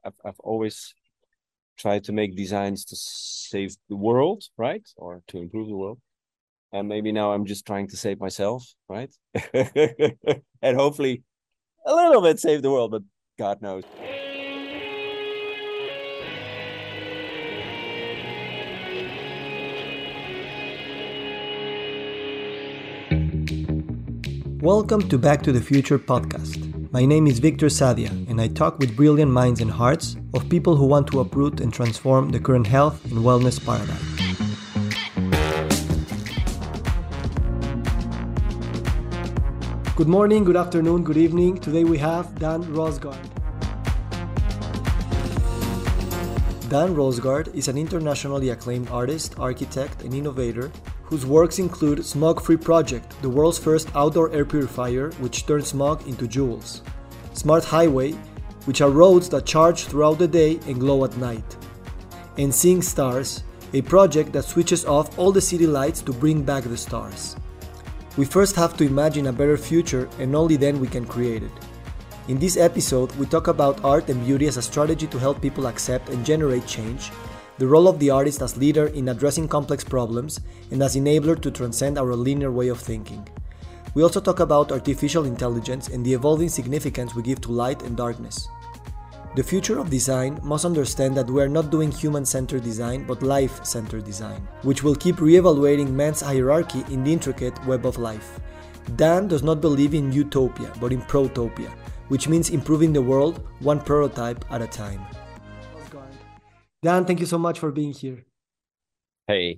I've always tried to make designs to save the world, right? Or to improve the world. And maybe now I'm just trying to save myself, right? And hopefully a little bit save the world, but God knows. Welcome to Back to the Future podcast. My name is Victor Sadia, and I talk with brilliant minds and hearts of people who want to uproot and transform the current health and wellness paradigm. Good morning, good afternoon, good evening. Today we have Dan Rosgaard. Dan Rosgaard is an internationally acclaimed artist, architect, and innovator whose works include Smog-Free Project, the world's first outdoor air purifier which turns smog into jewels, Smart Highway, which are roads that charge throughout the day and glow at night, and Seeing Stars, a project that switches off all the city lights to bring back the stars. We first have to imagine a better future, and only then we can create it. In this episode, we talk about art and beauty as a strategy to help people accept and generate change, the role of the artist as leader in addressing complex problems, and as enabler to transcend our linear way of thinking. We also talk about artificial intelligence and the evolving significance we give to light and darkness. The future of design must understand that we are not doing human-centered design, but life-centered design, which will keep re-evaluating man's hierarchy in the intricate web of life. Dan does not believe in utopia, but in protopia, which means improving the world one prototype at a time. Dan, thank you so much for being here. Hey.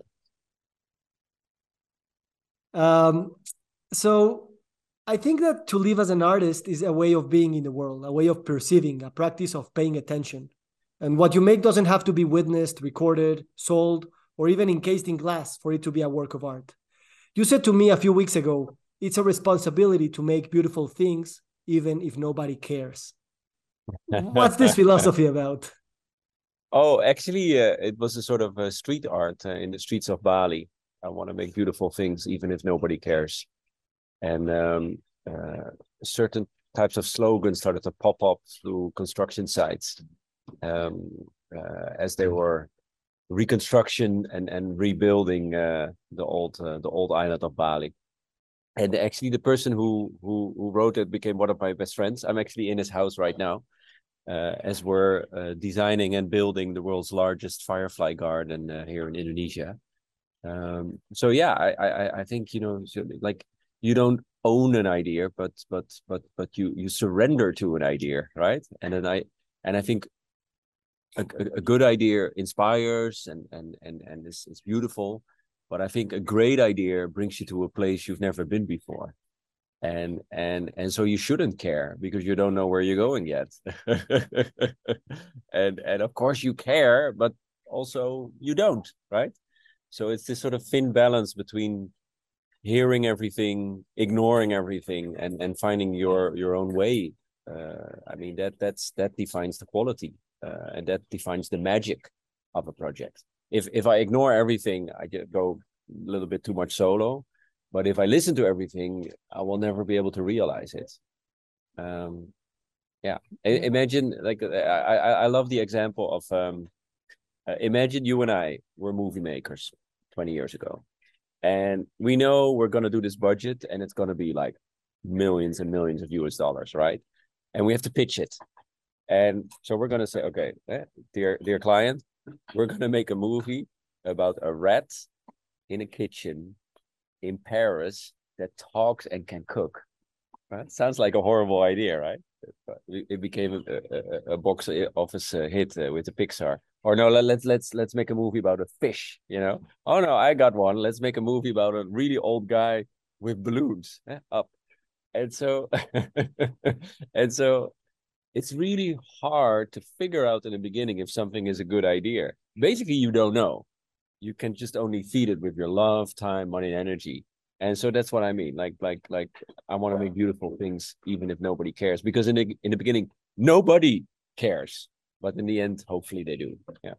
So I think that to live as an artist is a way of being in the world, a way of perceiving, a practice of paying attention. And what you make doesn't have to be witnessed, recorded, sold, or even encased in glass for it to be a work of art. You said to me a few weeks ago, it's a responsibility to make beautiful things, even if nobody cares. What's this philosophy about? Oh, actually, it was a sort of a street art in the streets of Bali. I want to make beautiful things, even if nobody cares. And certain types of slogans started to pop up through construction sites as they were reconstruction and rebuilding the old island of Bali. And actually, the person who wrote it became one of my best friends. I'm actually in his house right now. As we're designing and building the world's largest firefly garden here in Indonesia. So yeah, I think like you don't own an idea, but you surrender to an idea, right? And I think a good idea inspires and is beautiful, but I think a great idea brings you to a place you've never been before. And so you shouldn't care because you don't know where you're going yet. and of course you care, but also you don't, right? So it's this sort of thin balance between hearing everything, ignoring everything, and finding your own way. I mean that defines the quality, and that defines the magic of a project. If I ignore everything, I go a little bit too much solo. But if I listen to everything, I will never be able to realize it. Yeah. Imagine, like, I love the example of, imagine you and I were movie makers 20 years ago. And we know we're going to do this budget and it's going to be like millions and millions of US dollars, right? And we have to pitch it. And so we're going to say, okay, dear client, we're going to make a movie about a rat in a kitchen in Paris that talks and can cook. Right? Sounds like a horrible idea, right? It became a box office hit with the Pixar. Or no, let's make a movie about a fish. Oh no, I got one. Let's make a movie about a really old guy with balloons up. And so and so it's really hard to figure out in the beginning if something is a good idea. Basically, you don't know. You can just only feed it with your love, time, money, and energy. And so that's what I mean. Like I want to make beautiful things, even if nobody cares. Because in the beginning, nobody cares, but in the end, hopefully they do. Yeah.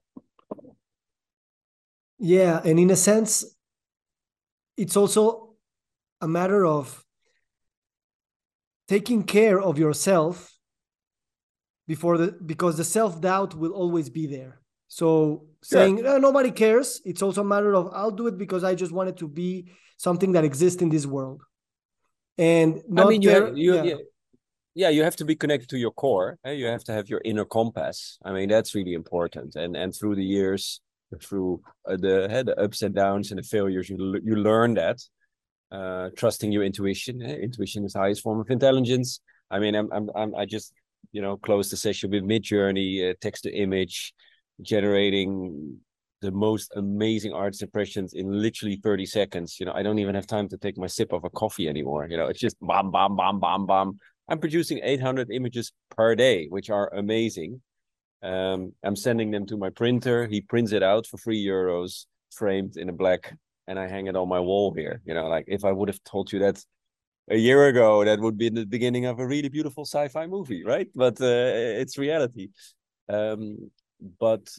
Yeah, and in a sense, it's also a matter of taking care of yourself because the self-doubt will always be there. So Yeah. saying nobody cares, it's also a matter of I'll do it because I just want it to be something that exists in this world and I mean, not care. Yeah. yeah, you have to be connected to your core. You have to have your inner compass. I mean, that's really important. And through the years, through the ups and downs and the failures, you learn that. Trusting your intuition. Intuition is the highest form of intelligence. I mean, I just closed the session with Midjourney, text to image, generating the most amazing artist impressions in literally 30 seconds. I don't even have time to take my sip of a coffee anymore. It's just bam, bam, bam, bam, bam. I'm producing 800 images per day, which are amazing. I'm sending them to my printer. He prints it out for €3, framed in a black, and I hang it on my wall here. Like if I would have told you that a year ago, that would be the beginning of a really beautiful sci-fi movie, right? But it's reality. But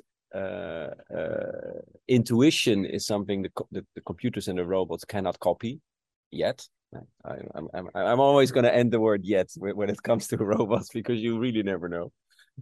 intuition is something the computers and the robots cannot copy yet. I'm always going to end the word yet when it comes to robots, because you really never know.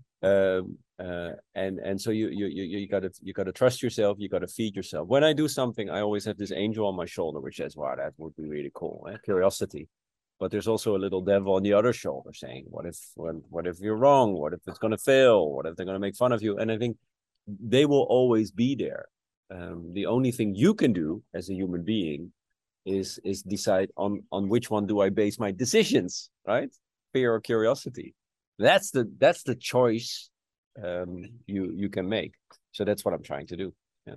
And so you gotta trust yourself. You gotta feed yourself. When I do something, I always have this angel on my shoulder, which says, "Wow, that would be really cool." Curiosity. But there's also a little devil on the other shoulder saying, "What if you're wrong? What if it's gonna fail? What if they're gonna make fun of you?" And I think they will always be there. The only thing you can do as a human being is decide on which one do I base my decisions, right? Fear or curiosity. That's the choice you can make. So that's what I'm trying to do. Yeah.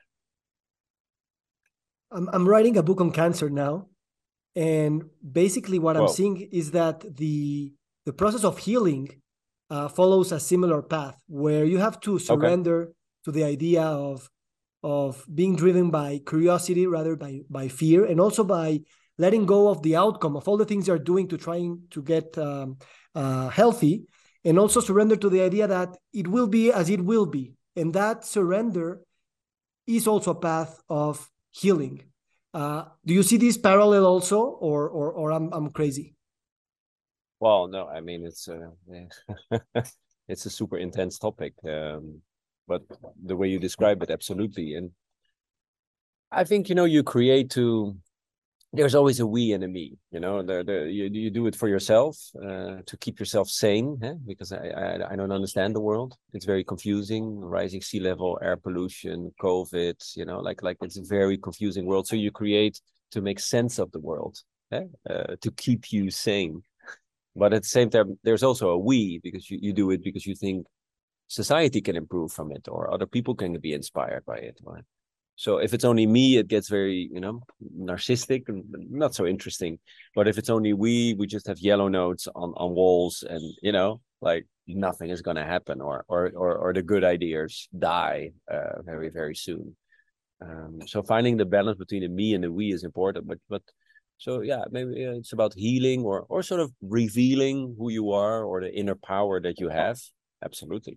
I'm writing a book on cancer now, and basically what I'm Well, seeing is that the process of healing follows a similar path where you have to okay. surrender to the idea of being driven by curiosity rather by fear, and also by letting go of the outcome of all the things you're doing to trying to get healthy, and also surrender to the idea that it will be as it will be, and that surrender is also a path of healing. Do you see this parallel also, or I'm crazy? Well, no, I mean it's a super intense topic, but the way you describe it, absolutely. And I think you create to. There's always a we and a me. You do it for yourself to keep yourself sane, because I don't understand the world. It's very confusing. Rising sea level, air pollution, COVID. Like it's a very confusing world. So you create to make sense of the world, to keep you sane. But at the same time, there's also a we, because you do it because you think society can improve from it, or other people can be inspired by it. Right? So if it's only me, it gets very, narcissistic and not so interesting. But if it's only we just have yellow notes on walls, and like nothing is going to happen, or the good ideas die very, very soon. So finding the balance between the me and the we is important. But so yeah, maybe it's about healing, or sort of revealing who you are, or the inner power that you have. Absolutely.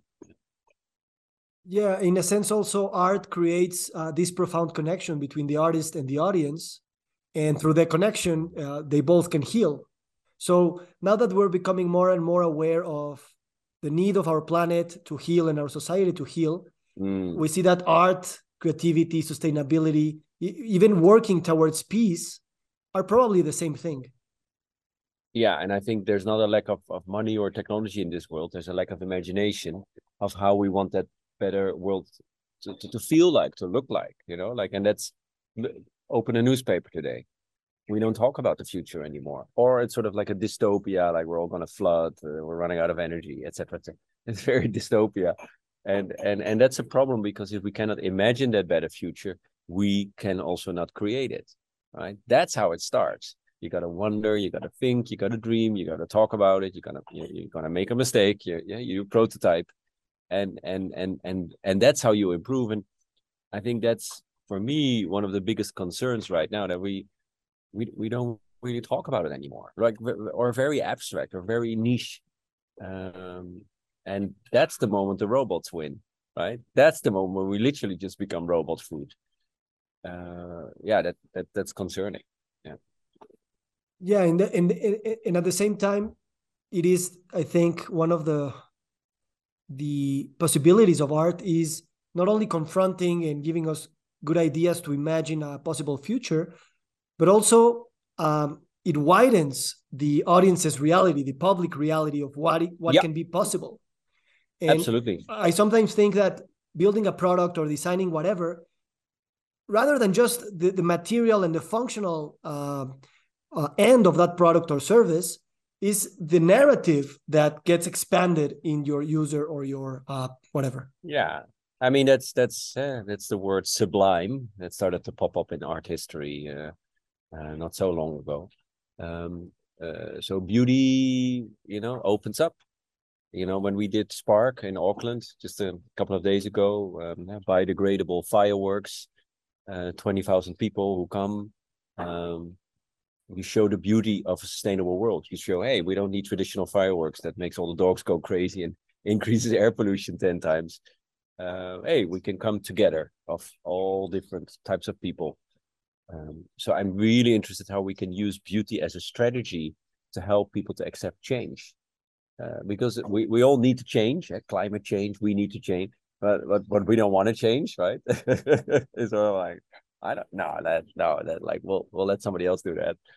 Yeah, in a sense, also art creates this profound connection between the artist and the audience, and through that connection, they both can heal. So now that we're becoming more and more aware of the need of our planet to heal and our society to heal, we see that art, creativity, sustainability, even working towards peace are probably the same thing. Yeah, and I think there's not a lack of money or technology in this world. There's a lack of imagination of how we want that better world to feel like, to look like, and that's open a newspaper today. We don't talk about the future anymore, or it's sort of like a dystopia, like we're all going to flood, we're running out of energy, etc. It's very dystopia, and that's a problem, because if we cannot imagine that better future, we can also not create it, right? That's how it starts. You got to wonder, you got to think, you got to dream, you got to talk about it, you're gonna make a mistake, you prototype, and that's how you improve. And I think that's, for me, one of the biggest concerns right now, that we don't really talk about it anymore, like, or very abstract or very niche. And that's the moment the robots win, right? That's the moment when we literally just become robot food. Yeah, that's concerning. Yeah. Yeah, and at the same time, it is, I think, one of the the possibilities of art is not only confronting and giving us good ideas to imagine a possible future, but also it widens the audience's reality, the public reality of what Yeah, can be possible. And absolutely. I sometimes think that building a product or designing whatever, rather than just the material and the functional end of that product or service, is the narrative that gets expanded in your user or your whatever. Yeah. I mean, that's the word sublime that started to pop up in art history not so long ago. So beauty, opens up. When we did Spark in Auckland just a couple of days ago, biodegradable fireworks, 20,000 people who come. You show the beauty of a sustainable world. You show, hey, we don't need traditional fireworks that makes all the dogs go crazy and increases air pollution 10 times. Hey, we can come together of all different types of people. So I'm really interested how we can use beauty as a strategy to help people to accept change. Because we all need to change, climate change, we need to change, but we don't want to change, right? It's sort of like, I don't know that like we'll let somebody else do that.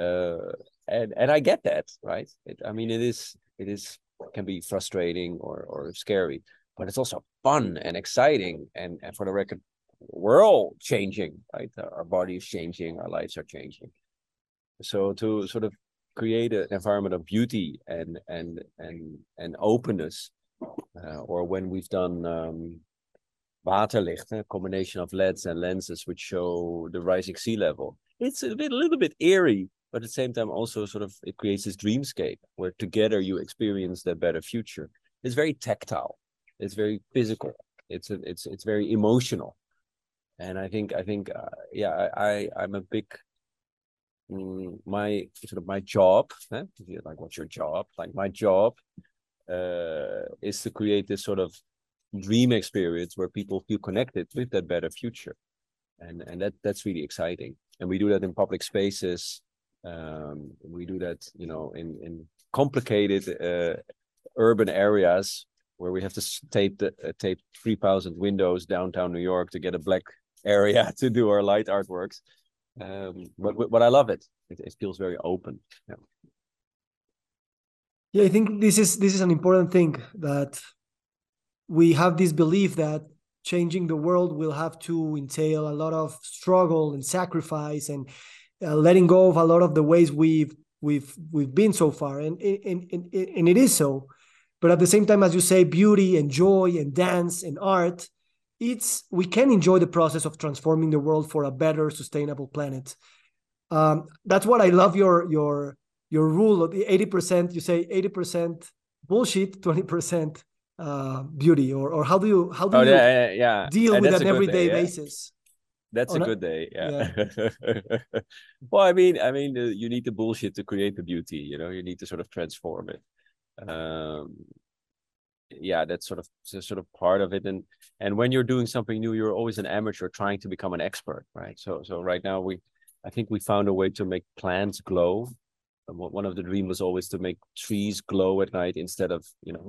And I get that, right? I mean, it can be frustrating or scary, but it's also fun and exciting. And for the record, we're all changing, right? Our body is changing, our lives are changing. So to sort of create an environment of beauty and openness, or when we've done waterlicht, a combination of LEDs and lenses which show the rising sea level. It's a little bit eerie, but at the same time also sort of it creates this dreamscape where together you experience the better future. It's very tactile, it's very physical, it's very emotional, and I think yeah, I'm a big my job, like what's your job? Like my job is to create this sort of dream experience where people feel connected with that better future, and that's really exciting. And we do that in public spaces. We do that, in complicated urban areas where we have to tape 3,000 windows downtown New York to get a black area to do our light artworks. But I love it. It feels very open. Yeah. Yeah, I think this is an important thing, that we have this belief that changing the world will have to entail a lot of struggle and sacrifice and letting go of a lot of the ways we've been so far, and it is so. But at the same time, as you say, beauty and joy and dance and art, we can enjoy the process of transforming the world for a better, sustainable planet. That's what I love your rule of the 80%. You say 80% bullshit, 20% beauty, or how do you Oh you yeah. deal And with that's an a good day. everyday Yeah, basis? that's a On a, good day. yeah. Yeah. Well, I mean, you need the bullshit to create the beauty. You need to sort of transform it. Um, yeah, that's sort of part of it. And when you're doing something new, you're always an amateur trying to become an expert, right? So right now I think we found a way to make plants glow. One of the dreams was always to make trees glow at night instead of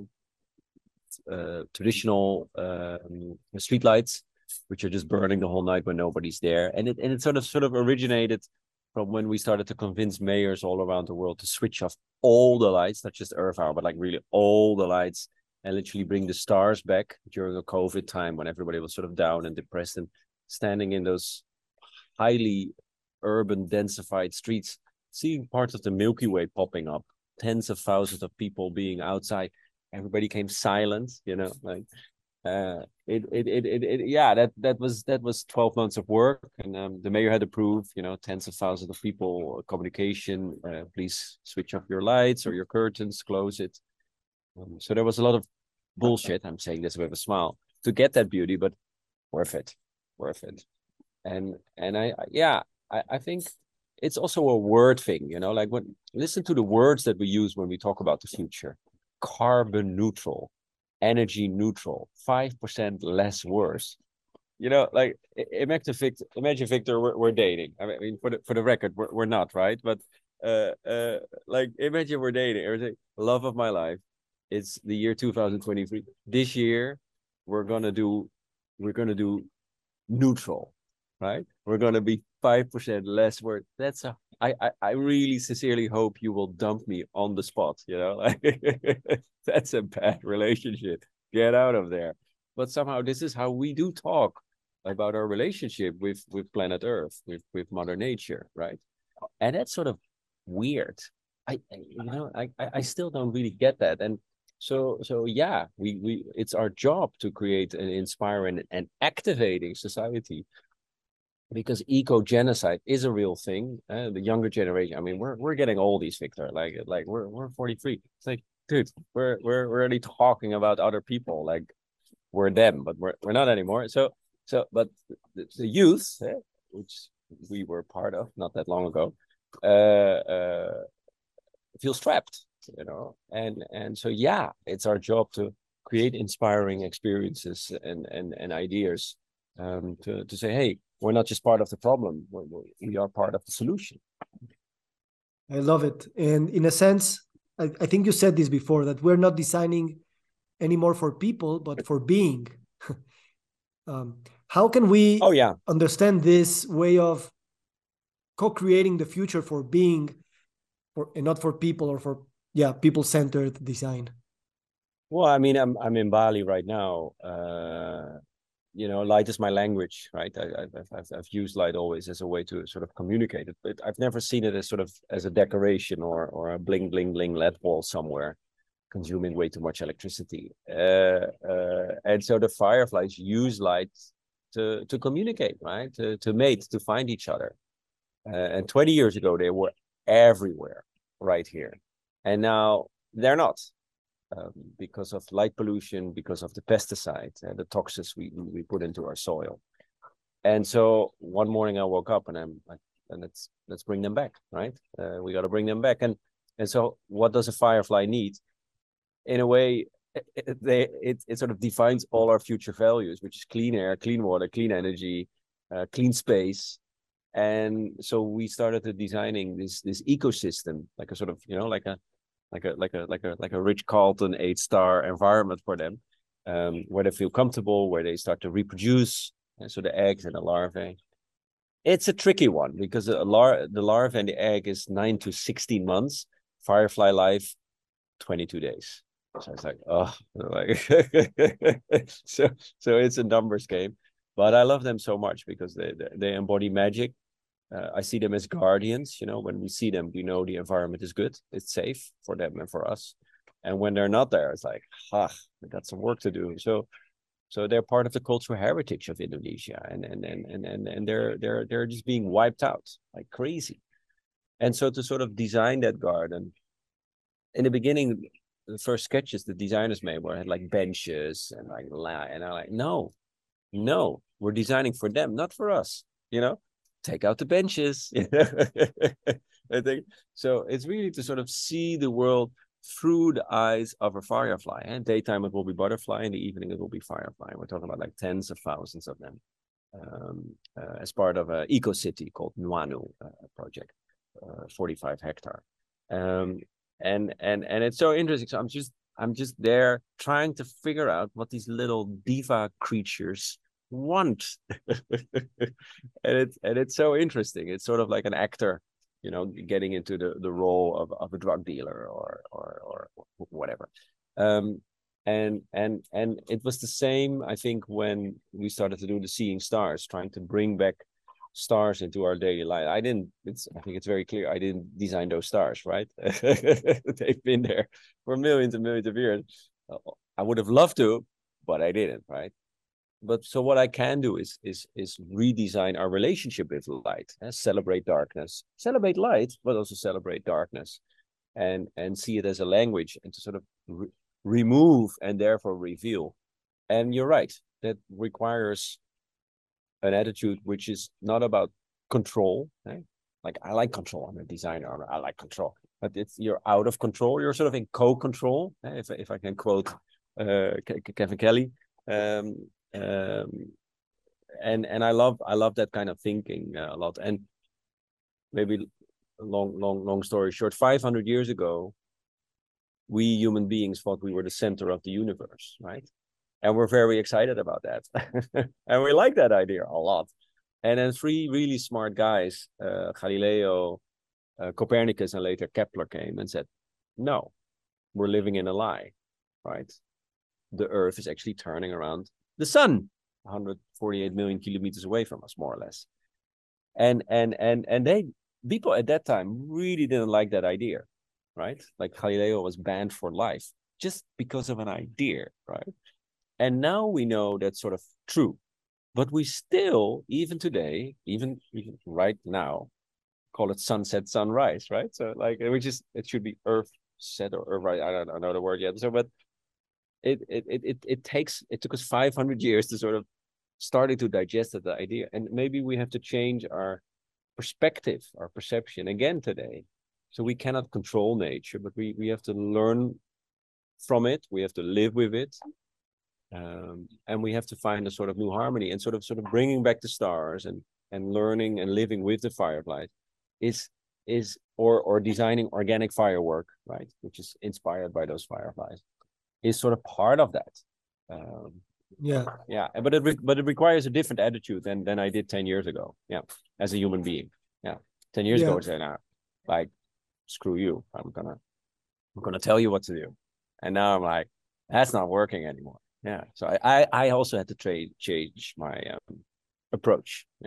traditional street lights, which are just burning the whole night when nobody's there. And it sort of originated from when we started to convince mayors all around the world to switch off all the lights, not just Earth Hour, but like really all the lights, and literally bring the stars back during a COVID time when everybody was sort of down and depressed, and standing in those highly urban densified streets, seeing parts of the Milky Way popping up, tens of thousands of people being outside. Everybody came silent, like yeah, that was 12 months of work, and the mayor had approved, tens of thousands of people, communication, please switch off your lights or your curtains, close it. So there was a lot of bullshit, I'm saying this with a smile, to get that beauty, but worth it. And I think it's also a word thing, like when listen to the words that we use when we talk about the future: carbon neutral, energy neutral, 5% less worse. Like imagine Victor, we're dating. I mean, for the record, we're not, right? But like imagine we're dating. Everything, love of my life. it's the year 2023. This year, we're gonna do neutral, right? We're gonna be 5% less worth. I really sincerely hope you will dump me on the spot. That's a bad relationship. Get out of there. But somehow this is how we do talk about our relationship with planet Earth, with Mother Nature, right? And that's sort of weird. I still don't really get that. And so yeah, we it's our job to create an inspiring and activating society, because eco genocide is a real thing. The younger generation, I mean, we're getting oldies, Victor. Like we're 43. It's like, dude, we're already talking about other people like we're them, but we're not anymore. But the youth, which we were part of not that long ago, feels trapped, and so yeah, it's our job to create inspiring experiences and ideas, to say, hey, we're not just part of the problem, we are part of the solution. I love it. And in a sense, I think you said this before, that we're not designing anymore for people, but for being. How can we Oh yeah, understand this way of co-creating the future for being, and not for people, or for people-centered design? well, I mean, I'm in Bali right now. Light is my language, right? I've used light always as a way to sort of communicate it, but I've never seen it as sort of as a decoration or a bling bling bling LED wall somewhere consuming way too much electricity. And so the fireflies use light to communicate, right? To mate, to find each other. And 20 years ago, they were everywhere, right here. And now they're not, because of light pollution, because of the pesticides and the toxins we put into our soil. And so one morning I woke up and I'm like, and let's bring them back, right? We got to bring them back. And so what does a firefly need? In a way, it sort of defines all our future values, which is clean air, clean water, clean energy, clean space. And so we started designing this ecosystem, like a sort of, like a Rich Carlton 8-star environment for them, where they feel comfortable, where they start to reproduce. And so the eggs and the larvae. It's a tricky one, because the larva and the egg is 9 to 16 months. Firefly life, 22 days. So it's like, oh, like so it's a numbers game, but I love them so much because they embody magic. I see them as guardians. When we see them, we know the environment is good, it's safe for them and for us. And when they're not there, it's like, we got some work to do. So they're part of the cultural heritage of Indonesia, and they're just being wiped out like crazy. And so to sort of design that garden, in the beginning, the first sketches the designers made were had like benches and and I'm like, no, we're designing for them, not for us. Take out the benches. I think so. It's really to sort of see the world through the eyes of a firefly. And daytime it will be butterfly, in the evening it will be firefly. We're talking about like tens of thousands of them, as part of an eco city called Nuanu project, 45 hectare. And it's so interesting. So I'm just there trying to figure out what these little diva creatures want. and it's so interesting. It's sort of like an actor, getting into the role of a drug dealer or whatever. And it was the same, I think, when we started to do the Seeing Stars, trying to bring back stars into our daily life. I think it's very clear I didn't design those stars, right? They've been there for millions and millions of years. I would have loved to, but I didn't, right? But so what I can do is redesign our relationship with light, celebrate darkness, celebrate light, but also celebrate darkness, and see it as a language, and to sort of remove and therefore reveal. And you're right, that requires an attitude which is not about control. Like, I like control. I'm a designer. I like control, but you're out of control. You're sort of in co-control. If I can quote Kevin Kelly. And I love that kind of thinking a lot. And maybe long story short, 500 years ago, we human beings thought we were the center of the universe, right? And we're very excited about that. And we like that idea a lot. And then three really smart guys, Galileo, Copernicus, and later Kepler came and said, no, we're living in a lie, right? The Earth is actually turning around the sun, 148 million kilometers away from us, more or less. And they people at that time really didn't like that idea, right? Like Galileo was banned for life just because of an idea, right? And now we know that's sort of true, but we still, even today, even right now, call it sunset, sunrise, right? So like, which is, it should be Earth set or right. I don't know the word yet. So, but it took us 500 years to sort of starting to digest the idea, and maybe we have to change our perspective, our perception again today. So we cannot control nature, but we have to learn from it. We have to live with it, and we have to find a sort of new harmony, and sort of bringing back the stars and learning and living with the fireflies or designing organic firework, right, which is inspired by those fireflies, is sort of part of that. Yeah, but it requires a different attitude than I did 10 years ago. Yeah, as a human being. Yeah, 10 years ago I said, nah, like, screw you. I'm gonna tell you what to do. And now I'm like, that's not working anymore. Yeah, so I also had to change my approach. Yeah.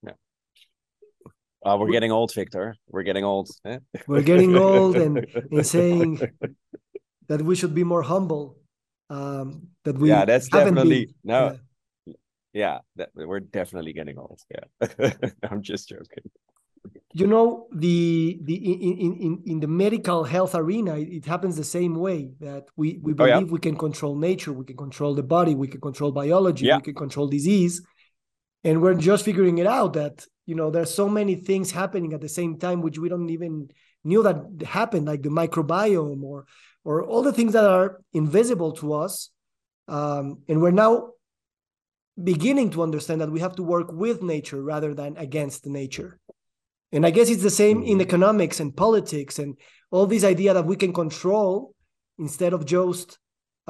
We're getting old, Victor. We're getting old. Eh? We're getting old, and saying that we should be more humble. That we that's haven't definitely been. no. Yeah, we're definitely getting old. Yeah, I'm just joking. You know, in the medical health arena, it happens the same way, that we believe we can control nature, we can control the body, we can control biology, we can control disease, and we're just figuring it out that, you know, there's so many things happening at the same time which we don't even knew that happened, like the microbiome or all the things that are invisible to us, and we're now beginning to understand that we have to work with nature rather than against nature. And I guess it's the same in economics and politics and all this idea that we can control instead of just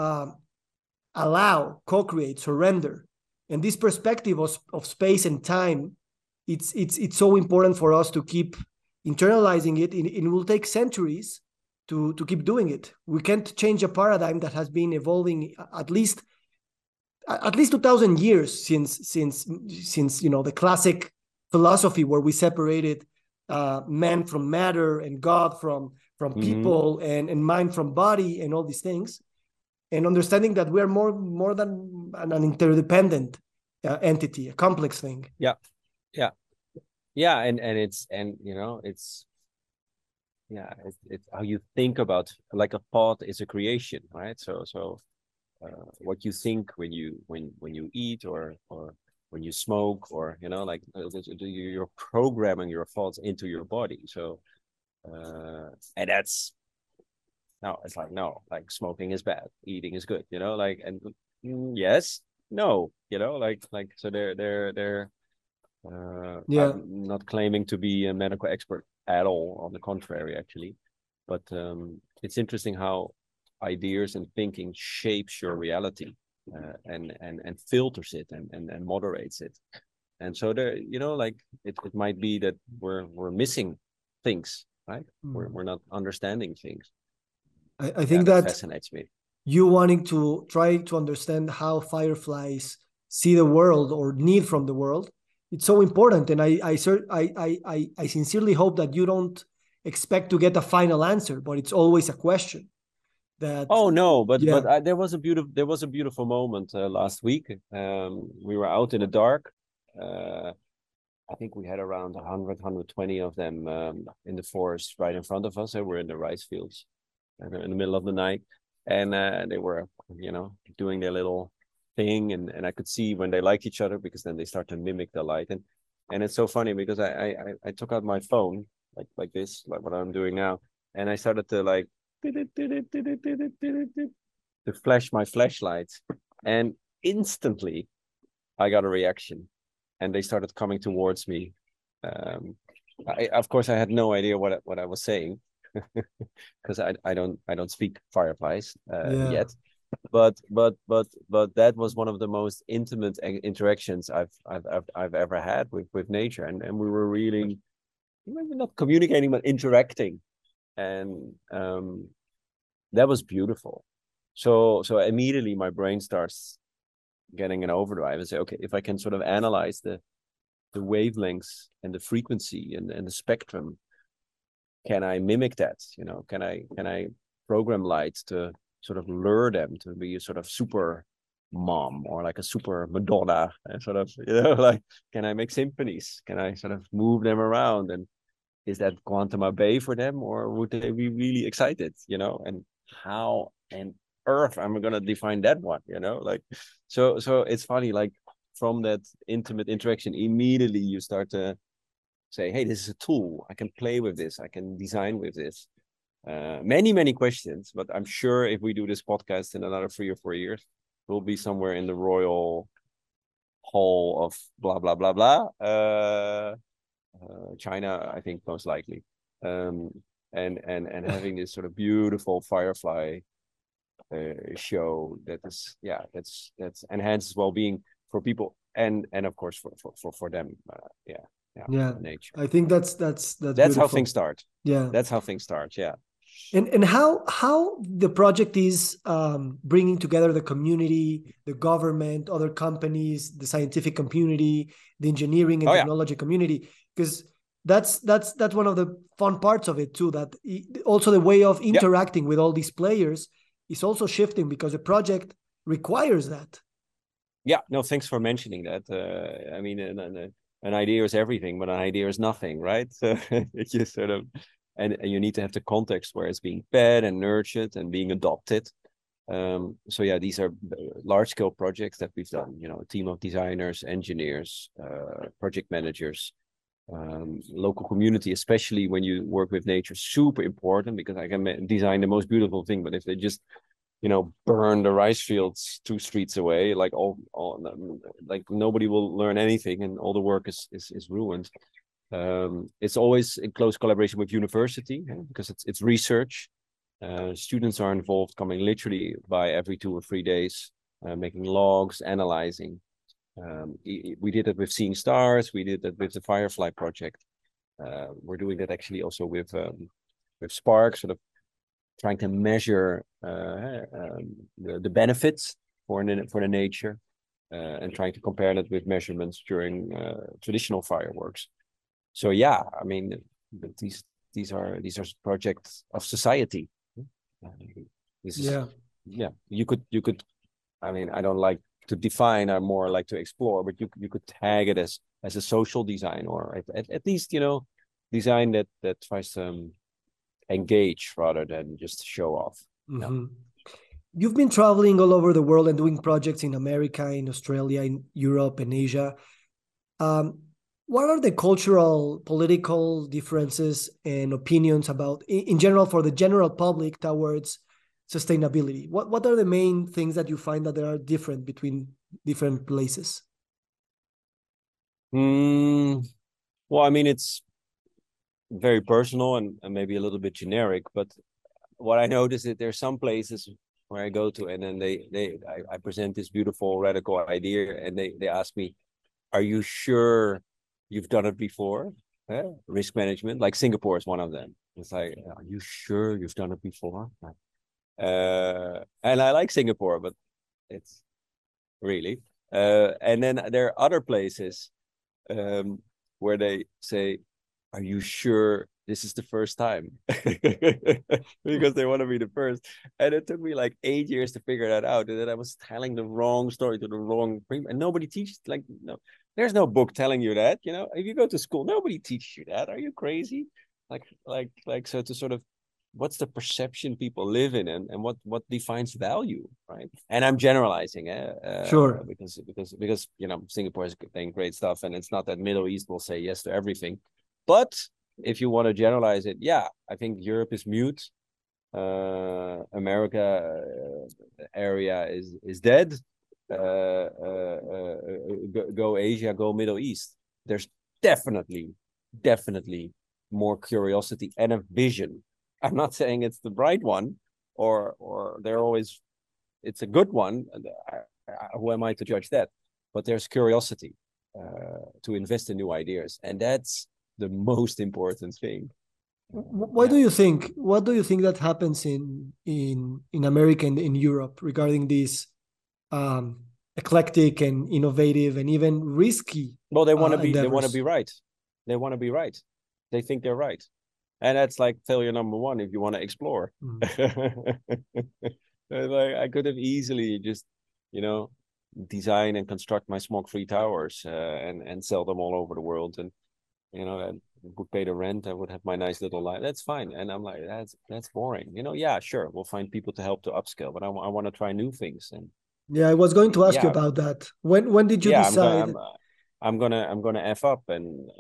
allow, co-create, surrender. And this perspective of space and time, it's so important for us to keep internalizing it. It will take centuries to keep doing it. We can't change a paradigm that has been evolving at least 2,000 years since you know, the classic philosophy where we separated man from matter and God from people and mind from body and all these things, and understanding that we are more than an interdependent entity, a complex thing. Yeah, and it's, and you know, it's how you think about, like, a thought is a creation, right? So what you think when you eat or when you smoke, or, you know, like, you're programming your thoughts into your body. So and that's, no, it's like, no, like, smoking is bad, eating is good, you know, like, and yes, no, you know, like so they're I'm not claiming to be a medical expert at all, on the contrary, actually, but it's interesting how ideas and thinking shapes your reality, and filters it and moderates it. And so there, you know, like, it might be that we're missing things, right? We're not understanding things. I think that fascinates me. You wanting to try to understand how fireflies see the world or need from the world, it's so important. And I sincerely hope that you don't expect to get a final answer, but it's always a question. That, oh no, but there was a beautiful moment last week. We were out in the dark. I think we had around 100, 120 of them in the forest right in front of us. We're in the rice fields in the middle of the night, and they were, you know, doing their little thing, and I could see when they liked each other, because then they start to mimic the light, and it's so funny because I took out my phone like this, like what I'm doing now, and I started to, like, to flash my flashlight, and instantly I got a reaction, and they started coming towards me. Of course, I had no idea what I was saying, because I don't speak fireflies Yeah. yet. But that was one of the most intimate interactions I've ever had with nature, and we were really maybe not communicating but interacting, and that was beautiful. So immediately my brain starts getting an overdrive and say, okay, if I can sort of analyze the wavelengths and the frequency and the spectrum, can I mimic that? Can I program light to sort of lure them to be a sort of super mom or like a super Madonna and sort of, like, can I make symphonies? Can I sort of move them around? And is that quantum bay for them, or would they be really excited? And how and earth am I gonna define that one? Like, so it's funny, like from that intimate interaction, immediately you start to say, hey, this is a tool. I can play with this. I can design with this. Many questions, but I'm sure if we do this podcast in another 3 or 4 years, we'll be somewhere in the royal hall of blah blah blah blah. China, I think most likely, um, and having this sort of beautiful firefly show that's enhances well-being for people and of course for them. Yeah. Nature. I think that's That's how beautiful. things start. Yeah. That's how things start. Yeah. And how the project is bringing together the community, the government, other companies, the scientific community, the engineering and Oh yeah. technology community, because that's one of the fun parts of it too. That also the way of Yeah. interacting with all these players is also shifting because the project requires that. Yeah. No, thanks for mentioning that. I mean, an idea is everything, but an idea is nothing, right? So it's just sort of, and you need to have the context where it's being fed and nurtured and being adopted. So yeah, these are large scale projects that we've done. A team of designers, engineers, project managers, local community, especially when you work with nature, super important, because I can design the most beautiful thing, but if they just burn the rice fields 2 streets away, like like nobody will learn anything, and all the work is ruined. It's always in close collaboration with university, because it's research. Students are involved, coming literally by every 2 or 3 days, making logs, analyzing. We did it with Seeing Stars. We did that with the Firefly project. We're doing that actually also with Spark, sort of trying to measure the benefits for the nature, and trying to compare that with measurements during traditional fireworks. So yeah, I mean, these are projects of society. This is Yeah. yeah. You could. I mean, I don't like to define. I more like to explore. But you could tag it as a social design, or at least design that tries to engage rather than just show off. Yeah. Mm-hmm. You've been traveling all over the world and doing projects in America, in Australia, in Europe, and Asia. Um, what are the cultural, political differences and opinions about, in general, for the general public towards sustainability? What are the main things that you find that are different between different places? Well, I mean, it's very personal and maybe a little bit generic, but what I notice is there's some places where I go to, and then I present this beautiful radical idea, and they ask me, "Are you sure you've done it before?" Risk management, like Singapore is one of them. It's like, "Are you sure you've done it before?" And I like Singapore, but it's really. And then there are other places um, where they say, "Are you sure this is the first time?" Because they want to be the first. And it took me like 8 years to figure that out. And then I was telling the wrong story to the wrong people. And nobody teaches, like, no, there's no book telling you that. If you go to school, nobody teaches you that. Are you crazy? So to sort of, what's the perception people live in, and what defines value, right? And I'm generalizing, Sure. because Singapore is doing great stuff, and it's not that Middle East will say yes to everything, but if you want to generalize it, yeah, I think Europe is mute. America area is dead. Go Asia, go Middle East. There's definitely more curiosity and a vision I'm not saying it's the right one, or they're always it's a good one. Who am I to judge that? But there's curiosity to invest in new ideas, and that's the most important thing. Why Yeah. do you think? What do you think that happens in America and in Europe regarding this eclectic and innovative and even risky Well, they want to endeavors? be right. They want to be right. They think they're right, and that's like failure number one if you want to explore. Mm. Like I could have easily just, you know, design and construct my smoke-free towers and sell them all over the world, and I would pay the rent. I would have my nice little life. That's fine. And I'm like, that's boring. Yeah, sure, we'll find people to help to upscale, but I want to try new things. And Yeah, I was going to ask you yeah, about that. When did you yeah, decide? I'm gonna f up and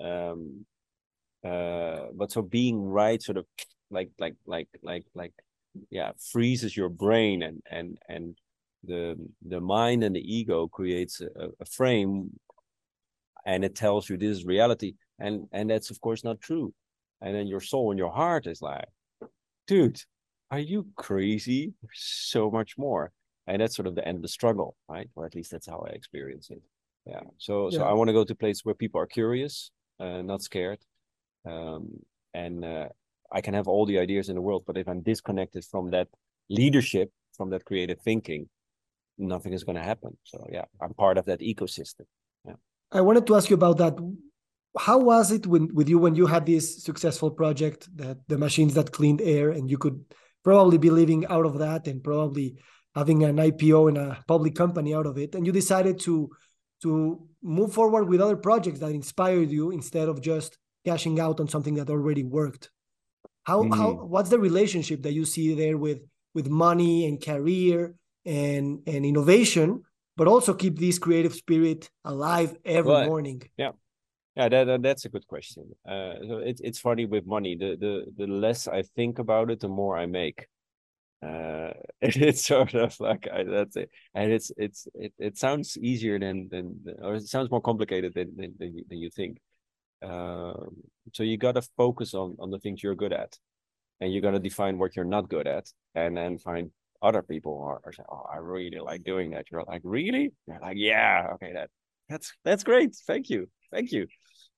but so being right sort of like yeah, freezes your brain, and the mind and the ego creates a frame, and it tells you this is reality, and that's of course not true. And then your soul and your heart is like, dude, are you crazy? There's so much more. And that's sort of the end of the struggle, right? Or at least that's how I experience it. Yeah. So Yeah, I want to go to a place where people are curious, not scared. Um, and I can have all the ideas in the world, but if I'm disconnected from that leadership, from that creative thinking, nothing is going to happen. So yeah, I'm part of that ecosystem. Yeah. I wanted to ask you about that. How was it with you when you had this successful project, that the machines that cleaned air, and you could probably be living out of that and probably having an IPO in a public company out of it, and you decided to move forward with other projects that inspired you instead of just cashing out on something that already worked? How Mm. what's the relationship that you see there with money and career and innovation, but also keep this creative spirit alive every Well, morning? yeah. Yeah, that's a good question. So it's funny with money. The less I think about it, the more I make. It's sort of like that's it, and it sounds easier than or it sounds more complicated than you think. Um, so you got to focus on the things you're good at, and you got to define what you're not good at, and then find other people are saying, "Oh, I really like doing that." You're like, "Really?" You're like, "Yeah, okay, that's great. Thank you."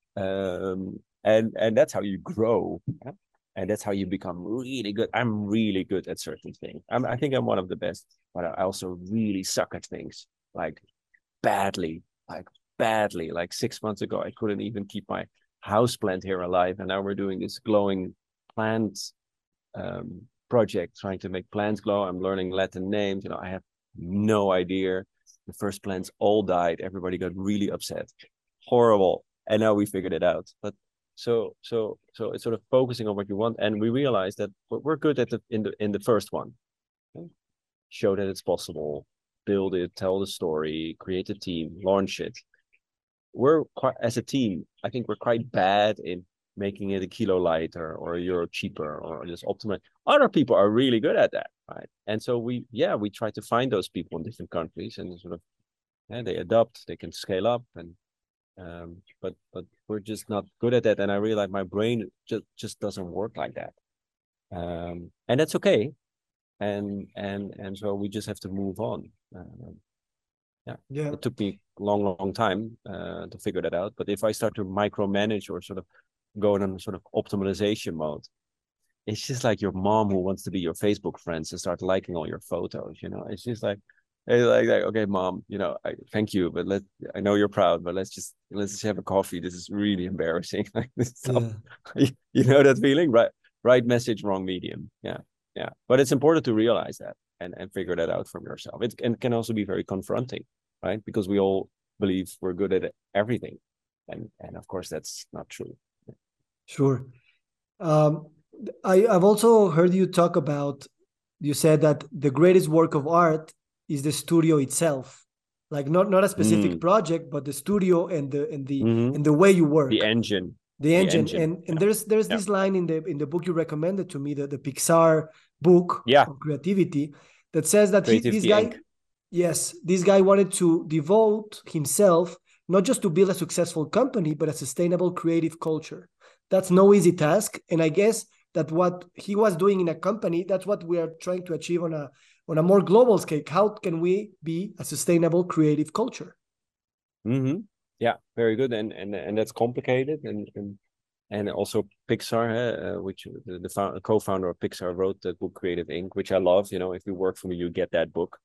And that's how you grow. Yeah? And that's how you become really good. I'm really good at certain things. I think I'm one of the best, but I also really suck at things like badly, like badly. Like 6 months ago, I couldn't even keep my house plant here alive, and now we're doing this glowing plant project, trying to make plants glow. I'm learning Latin names. I have no idea. The first plants all died. Everybody got really upset. Horrible. And now we figured it out. But so it's sort of focusing on what you want, and we realize that we're good at in the first one. Okay? Show that it's possible, build it, tell the story, create a team, launch it. We're quite, as a team, I think we're quite bad in making it a kilo lighter or a euro cheaper or just optimize. Other people are really good at that, right? And so we try to find those people in different countries, and sort of they adopt, they can scale up, and but we're just not good at that. And I realize my brain just doesn't work like that, and that's okay. And so we just have to move on. Yeah, Yeah, it took me a long time to figure that out. But if I start to micromanage or sort of go in a sort of optimization mode, it's just like your mom who wants to be your Facebook friends and start liking all your photos. It's just like, okay, mom, thank you, but I know you're proud, but let's just have a coffee. This is really embarrassing. Like this stuff. yeah. You know that feeling, right? Right message, wrong medium. Yeah, yeah. But it's important to realize that and figure that out from yourself. It can also be very confronting, right? Because we all believe we're good at everything, and of course that's not true. Sure. Um, I've also heard you talk about, you said that the greatest work of art is the studio itself, like not a specific Mm. project, but the studio and Mm-hmm. the way you The work, engine, the the engine. engine. And Yeah, there's yeah, this line in the book you recommended to me, the Pixar book yeah. of creativity, that says that this Creativity guy, Inc. yes, this guy wanted to devote himself not just to build a successful company, but a sustainable creative culture. That's no easy task, and I guess that what he was doing in a company, that's what we are trying to achieve on a more global scale. How can we be a sustainable creative culture? Mm-hmm. Yeah, very good. And that's complicated. And also Pixar, which the co-founder of Pixar wrote the book Creative Inc., which I love. If you work for me, you get that book.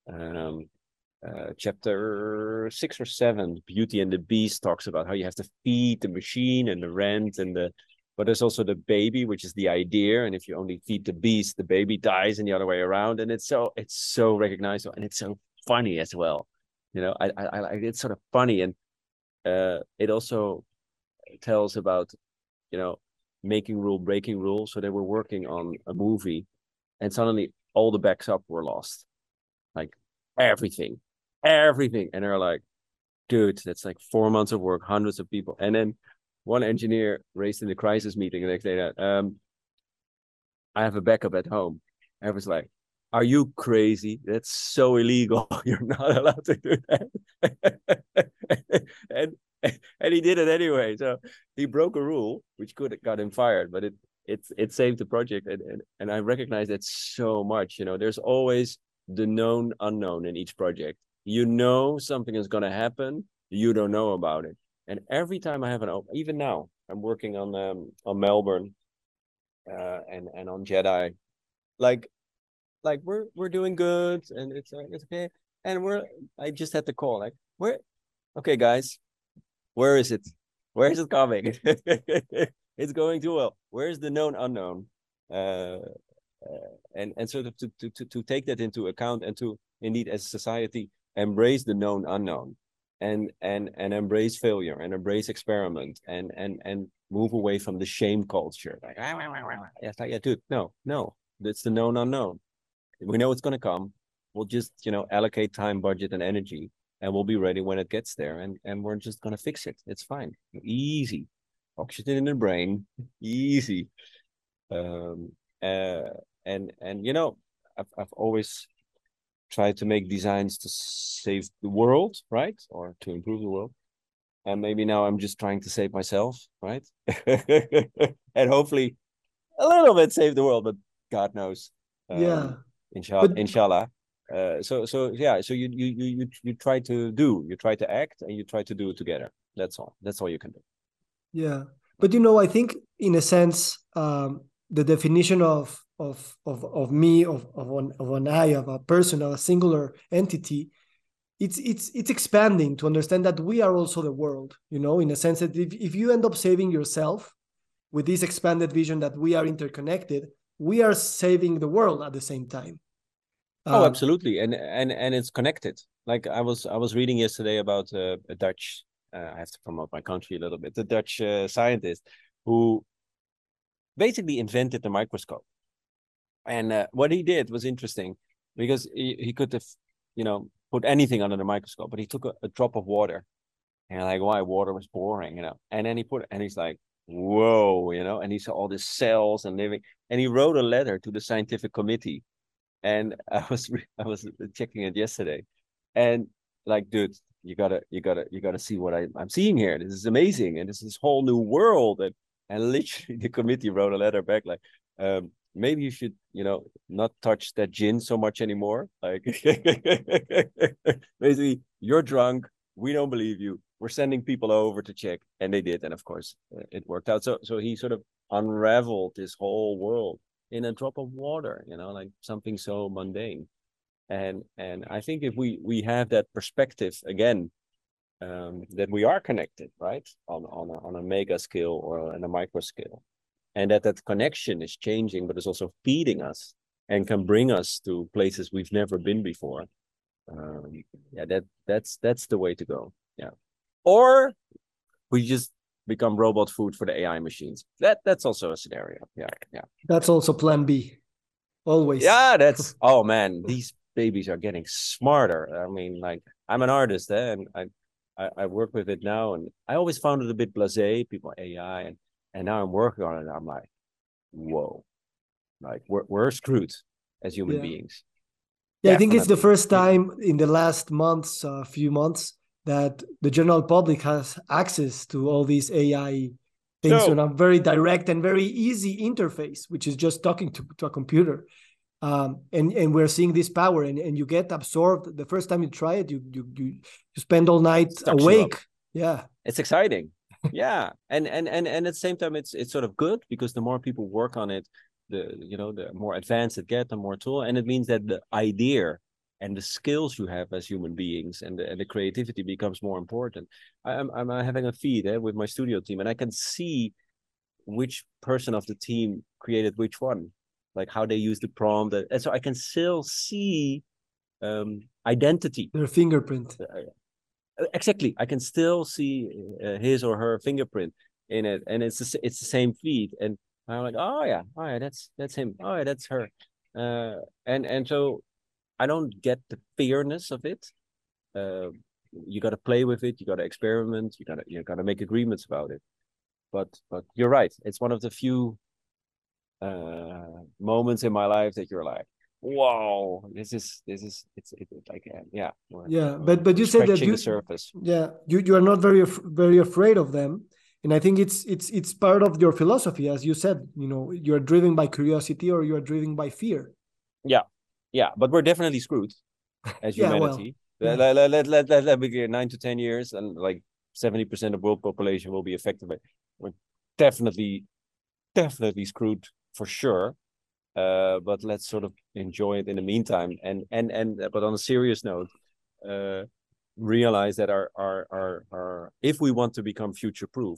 Chapter 6 or 7, Beauty and the Beast, talks about how you have to feed the machine and the rent but there's also the baby, which is the idea. And if you only feed the beast, the baby dies, and the other way around. And it's so recognizable, and it's so funny as well. I it's sort of funny, and it also tells about making rule, breaking rule. So they were working on a movie, and suddenly all the backs up were lost, like everything, and they're like, dude, that's like 4 months of work, hundreds of people. And then one engineer raised in the crisis meeting the next day that I have a backup at home. I was like, are you crazy? That's so illegal. You're not allowed to do that. and and he did it anyway. So he broke a rule, which could have got him fired, but it saved the project. And I recognize that so much. There's always the known unknown in each project. Something is going to happen. You don't know about it. And every time I have even now, I'm working on Melbourne, and on Jedi, like we're doing good, and it's okay. And I just had to call, like, okay, guys, where is it? Where is it coming? It's going too well. Where's the known unknown? And sort of to take that into account, and to indeed, as a society, embrace the known unknown, and embrace failure, and embrace experiment, and move away from the shame culture. Like, yeah, dude, no, that's the known unknown. We know it's going to come. We'll just, allocate time, budget, and energy, and we'll be ready when it gets there. And we're just going to fix it. It's fine. Easy. Oxygen in the brain. Easy. And I've always tried to make designs to save the world, right? Or to improve the world. And maybe now I'm just trying to save myself, right? And hopefully a little bit save the world, but God knows. Yeah. Inshallah. So you try to act, and you try to do it together. That's all you can do. Yeah, but I think in a sense, the definition of me, of an I, of a person, of a singular entity, it's expanding to understand that we are also the world. In a sense that if you end up saving yourself with this expanded vision that we are interconnected, we are saving the world at the same time. Oh, absolutely, and it's connected. Like I was reading yesterday about a Dutch. I have to promote my country a little bit. The Dutch scientist who basically invented the microscope, and what he did was interesting, because he could have, put anything under the microscope, but he took a drop of water, and like, why? Water was boring, and then and he's like, whoa, and he saw all these cells and living, and he wrote a letter to the scientific committee. And I was checking it yesterday, and like, dude, you gotta see what I'm seeing here. This is amazing, and this is whole new world. And literally, the committee wrote a letter back like, maybe you should, not touch that gin so much anymore. Like, basically, you're drunk. We don't believe you. We're sending people over to check, and they did, and of course, it worked out. So he sort of unraveled this whole world in a drop of water, like something so mundane. And I think if we have that perspective again, that we are connected, right, on a mega scale or on a micro scale, and that connection is changing, but is also feeding us and can bring us to places we've never been before. That's the way to go. Yeah. Or we just become robot food for the AI machines. That's also a scenario. Yeah. That's also plan B. Always. Yeah, oh man, these babies are getting smarter. I mean, like, I'm an artist, and I work with it now, and I always found it a bit blasé, people AI, and now I'm working on it, and I'm like, whoa, like we're screwed as human beings. Yeah, I think it's the first time in the last few months, that the general public has access to all these AI things So on a very direct and very easy interface, which is just talking to a computer. And we're seeing this power, and you get absorbed. The first time you try it, you spend all night sucks you up. awake. Yeah, It's exciting. Yeah. And at the same time, it's sort of good because the more people work on it, the more advanced it gets, the more tool. And it means that the idea and the skills you have as human beings and the creativity becomes more important. I'm having a feed with my studio team, and I can see which person of the team created which one, like how they use the prompt. And so I can still see identity. their fingerprint. Exactly, I can still see his or her fingerprint in it, and it's the same feed, and I'm like, oh yeah, that's him, oh yeah, that's her, and so I don't get the fairness of it. You got to play with it, you got to experiment, you got to make agreements about it. But you're right, it's one of the few moments in my life that you're like, wow, it's like yeah, Yeah, we're, but we're you said that scratching the surface. you are not very afraid of them, and I think it's part of your philosophy, as you said. You are driven by curiosity or you are driven by fear. Yeah, yeah, but we're definitely screwed as Yeah, well, humanity. yeah, Let be clear, 9 to 10 years, and like 70% of world population will be affected by. We're definitely screwed for sure. But let's sort of enjoy it in the meantime. And but on a serious note, uh, realize that our if we want to become future proof,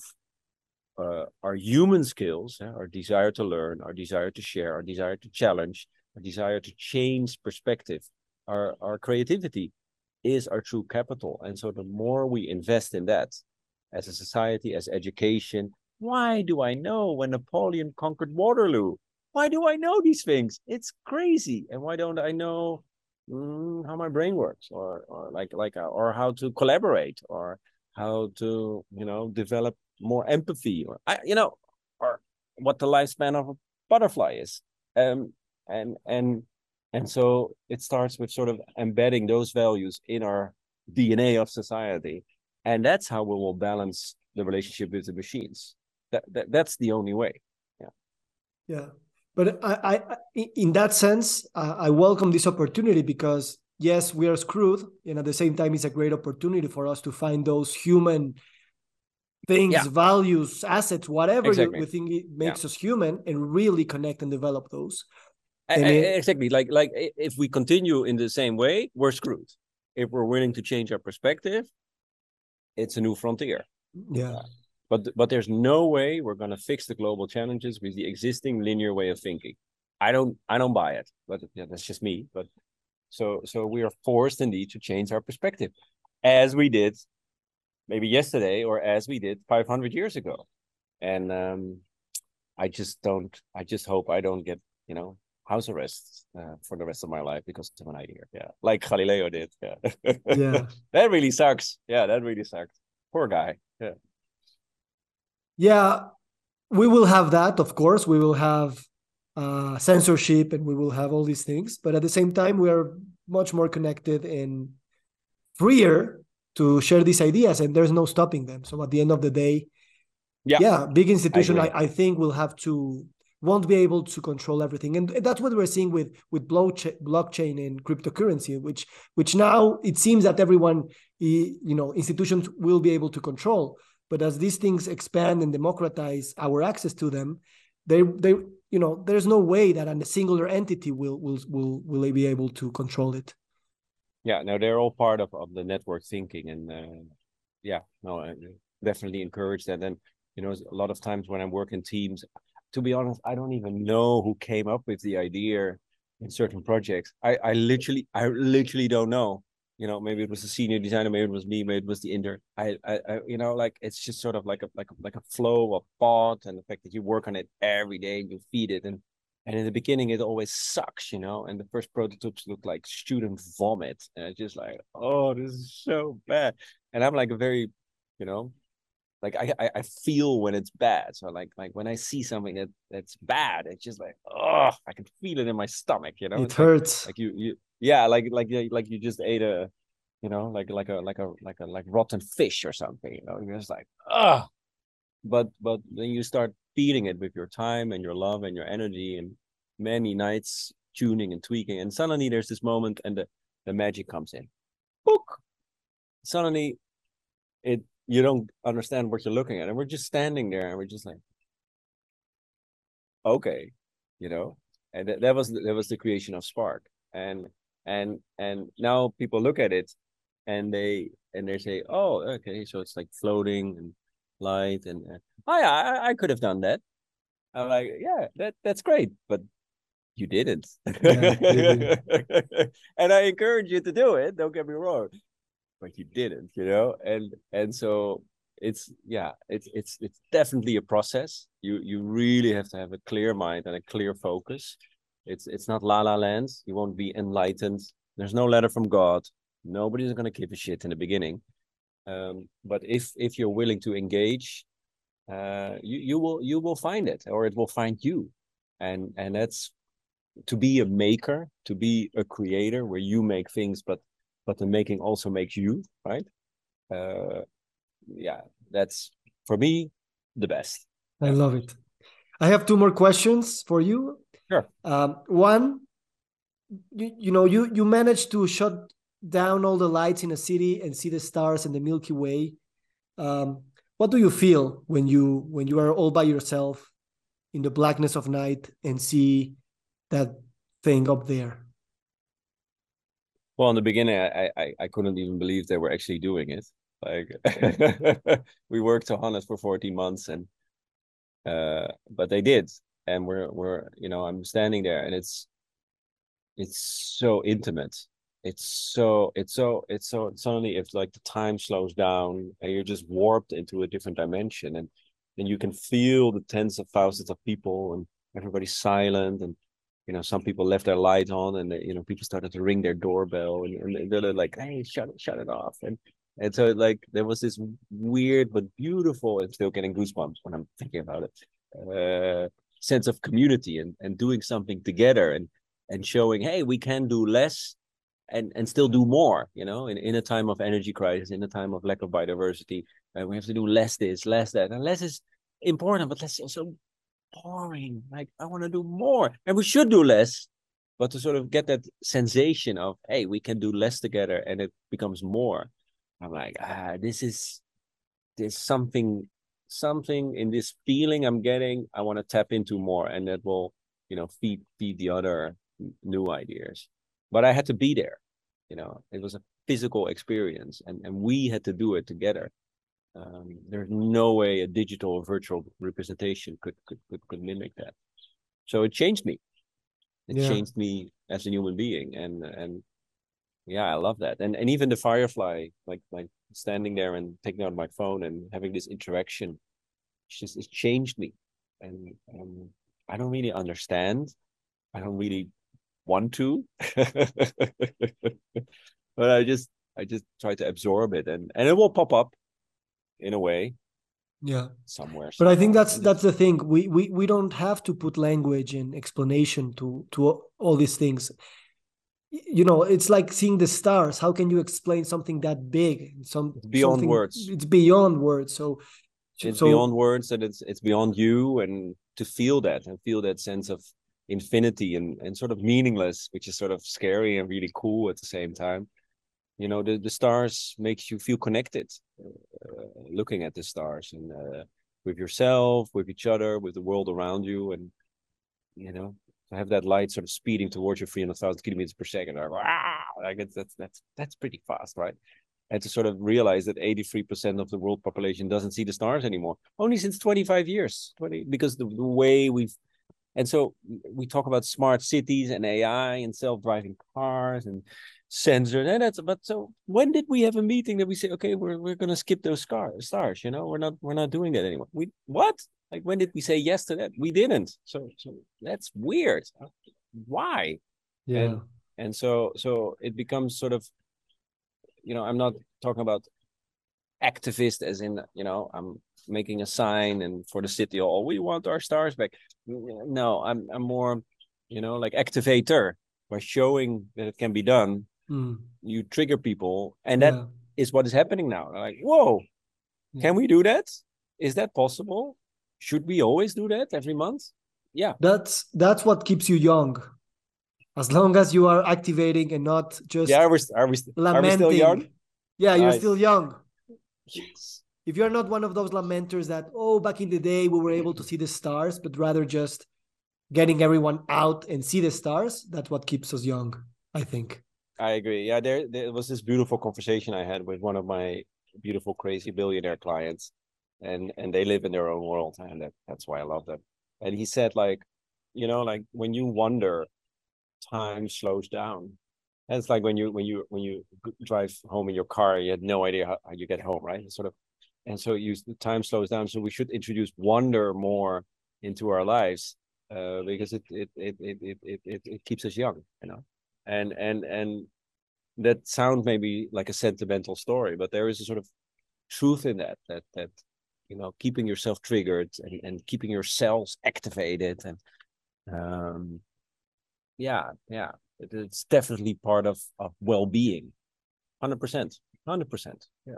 our human skills, our desire to learn, our desire to share, our desire to challenge, our desire to change perspective, our creativity is our true capital. And so the more we invest in that as a society, as education, why do I know when Napoleon conquered Waterloo? Why do I know these things? It's crazy. And why don't I know how my brain works, or how to collaborate, or how to develop more empathy, or what the lifespan of a butterfly is. Um, and and and so it starts with sort of embedding those values in our DNA of society, and that's how we will balance the relationship with the machines. That's the only way. Yeah. yeah. But in that sense, I welcome this opportunity because yes, we are screwed, and at the same time, it's a great opportunity for us to find those human things, Yeah. values, assets, whatever we Exactly. think it Yeah. makes us human, and really connect and develop those. And Exactly. Like if we continue in the same way, we're screwed. If we're willing to change our perspective, it's a new frontier. yeah, But there's no way we're going to fix the global challenges with the existing linear way of thinking. I don't buy it. But yeah, that's just me. But so we are forced indeed to change our perspective, as we did maybe yesterday, or as we did 500 years ago. And I just don't. I just hope I don't get house arrest for the rest of my life because of an idea. Yeah, like Galileo did. Yeah, yeah, that really sucks. Yeah, that really sucks. Poor guy. Yeah. yeah. We will have that, of course. We will have censorship, and we will have all these things. But at the same time, we are much more connected and freer to share these ideas, and there's no stopping them. So at the end of the day, Yeah, yeah, big I institution, agree. I think will have to won't be able to control everything, and that's what we're seeing with blockchain and cryptocurrency, which now it seems that everyone, institutions will be able to control. But as these things expand and democratize our access to them, they there's no way that a singular entity will be able to control it. Yeah, no, they're all part of the network thinking, and yeah, no, I definitely encourage that. And a lot of times when I work in teams, to be honest, I don't even know who came up with the idea in certain projects. I literally don't know. Maybe it was the senior designer, maybe it was me, maybe it was the intern. Like it's just sort of like a flow of thought, and the fact that you work on it every day and you feed it, and in the beginning it always sucks, and the first prototypes look like student vomit, and it's just like, oh, this is so bad. And I'm like a very, you know, like I feel when it's bad. So like when I see something that's bad, it's just like, oh, I can feel it in my stomach. It It's like hurts. you yeah, like you just ate a, like rotten fish or something. You're just like, oh. but then you start feeding it with your time and your love and your energy and many nights tuning and tweaking, and suddenly there's this moment and the magic comes in. Book. Suddenly it you don't understand what you're looking at, and we're just standing there and we're just like, okay, you know. And that was the creation of Spark. And now people look at it and they say, oh, okay, so it's like floating and light, and oh yeah, I could have done that. I'm like, yeah, that's great, but you didn't. Yeah, you did. And I encourage you to do it, don't get me wrong, but you didn't, and so it's definitely a process. You really have to have a clear mind and a clear focus. It's not la la land. You won't be enlightened. There's no letter from God. Nobody's gonna give a shit in the beginning. But if you're willing to engage, you will find it, or it will find you. And that's to be a maker, to be a creator where you make things, but the making also makes you, right? uh yeah, that's for me the best. I Yeah, love it. I have two more questions for you. sure. One, you managed to shut down all the lights in a city and see the stars and the Milky Way. What do you feel when you are all by yourself in the blackness of night and see that thing up there? Well, in the beginning, I couldn't even believe they were actually doing it. Like, we worked on it for 14 months, and but they did. And we're I'm standing there, and it's so intimate. It's so suddenly, if like the time slows down and you're just warped into a different dimension, and you can feel the tens of thousands of people, and everybody's silent, and some people left their light on, and people started to ring their doorbell, and they're like, hey, shut it off. And so, like, there was this weird but beautiful, I'm still getting goosebumps when I'm thinking about it, sense of community, and doing something together, and showing, hey, we can do less and still do more, in a time of energy crisis, in a time of lack of biodiversity. We have to do less this, less that, and less is important, but less is also boring. Like, I want to do more, and we should do less, but to sort of get that sensation of, hey, we can do less together and it becomes more. I'm like, there's something in this feeling I'm getting. I want to tap into more, and that will, feed the other new ideas. But I had to be there. It was a physical experience, and we had to do it together. There's no way a digital or virtual representation could mimic that. So it changed me. It Yeah. changed me as a human being, and yeah, I love that. And even the Firefly, like standing there and taking out my phone and having this interaction, it changed me. And I don't really understand. I don't really want to, but I just try to absorb it, and it will pop up in a way Yeah. somewhere But I think somehow. that's And that's the thing. We don't have to put language and explanation to all these things. It's like seeing the stars. How can you explain something that big? it's beyond Something words. it's beyond words. So It's so beyond words, and it's beyond you, and to feel that and feel that sense of infinity and sort of meaningless, which is sort of scary and really cool at the same time. The stars makes you feel connected, looking at the stars, and with yourself, with each other, with the world around you, and to have that light sort of speeding towards you 300,000 kilometers per second. Like, wow, like that's pretty fast, right? And to sort of realize that 83% of the world population doesn't see the stars anymore, only since 25 years, because the way we've. And so we talk about smart cities and AI and self-driving cars and sensors, and but so when did we have a meeting that we say, okay, we're gonna skip those stars? We're not doing that anymore. We what? Like, when did we say yes to that? We didn't. So that's weird. Why? yeah. And so it becomes sort of, I'm not talking about activist as in, I'm making a sign and for the city hall, we want our stars back. No, I'm more, like activator. By showing that it can be done, Mm, you trigger people, and that yeah. is what is happening now. Like, whoa, Yeah. can we do that? Is that possible? Should we always do that every month? Yeah. That's what keeps you young. As long as you are activating and not just Are we still young? lamenting. Yeah, you're still Nice. young. Yes. If you're not one of those lamenters that, oh, back in the day we were able to see the stars, but rather just getting everyone out and see the stars, that's what keeps us young, I think. I agree. Yeah, there was this beautiful conversation I had with one of my beautiful, crazy billionaire clients, and they live in their own world, and that's why I love them. And he said, like, like when you wonder, time slows down. And it's like when you drive home in your car, you had no idea how you get home, right? It's sort of, and so the time slows down. So we should introduce wonder more into our lives, because it keeps us young, and that sounds maybe like a sentimental story, but there is a sort of truth in that keeping yourself triggered and keeping your cells activated, and yeah, it's definitely part of well-being. 100%. Yeah.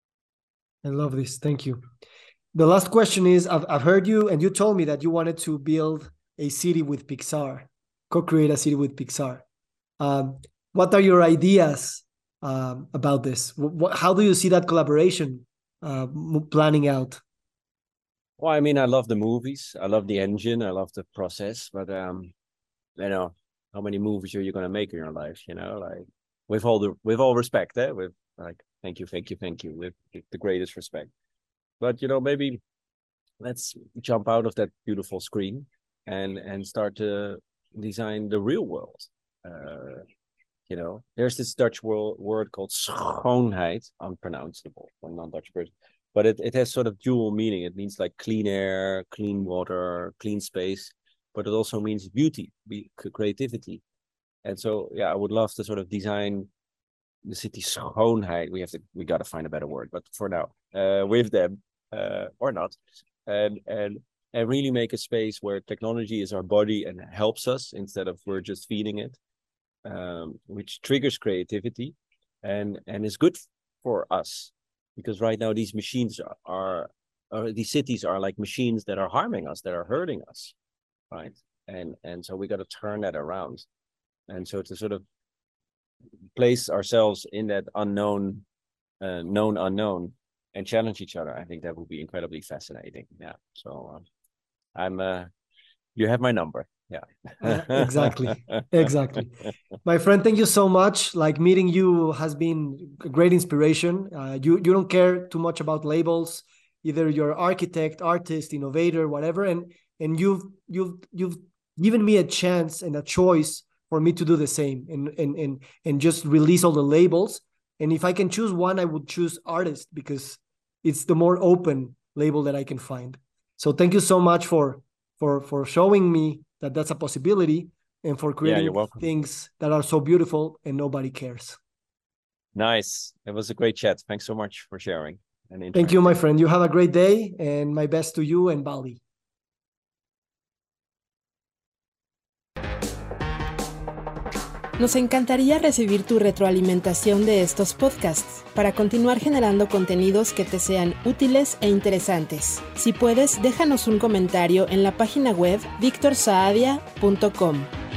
I love this. Thank you. The last question is, I've heard you, and you told me that you wanted to build a city with Pixar, co-create a city with Pixar. What are your ideas about this? How do you see that collaboration planning out? Well, I mean, I love the movies. I love the engine. I love the process. But how many movies are you going to make in your life? Like, with all respect, with like, thank you, with the greatest respect. But maybe let's jump out of that beautiful screen and start to design the real world. There's this Dutch word called schoonheid, unpronounceable for a non-Dutch person, but it has sort of dual meaning. It means like clean air, clean water, clean space, but it also means beauty, creativity. And so, yeah, I would love to sort of design the city schoonheid. We got to find a better word, but for now, with them, or not, and really make a space where technology is our body and helps us instead of we're just feeding it. Which triggers creativity and is good for us, because right now these machines these cities are like machines that are harming us, that are hurting us, right? And so we got to turn that around, and so to sort of place ourselves in that known unknown and challenge each other, I think that would be incredibly fascinating. Yeah, so you have my number. Yeah. Exactly. My friend, thank you so much. Like, meeting you has been a great inspiration. You don't care too much about labels. Either you're architect, artist, innovator, whatever, and you've given me a chance and a choice for me to do the same, and just release all the labels. And if I can choose one, I would choose artist, because it's the more open label that I can find. So thank you so much for showing me that that's a possibility, and for creating things that are so beautiful and nobody cares. Nice. It was a great chat. Thanks so much for sharing. Thank you, my friend. You have a great day, and my best to you and Bali. Nos encantaría recibir tu retroalimentación de estos podcasts para continuar generando contenidos que te sean útiles e interesantes. Si puedes, déjanos un comentario en la página web victorsaadia.com.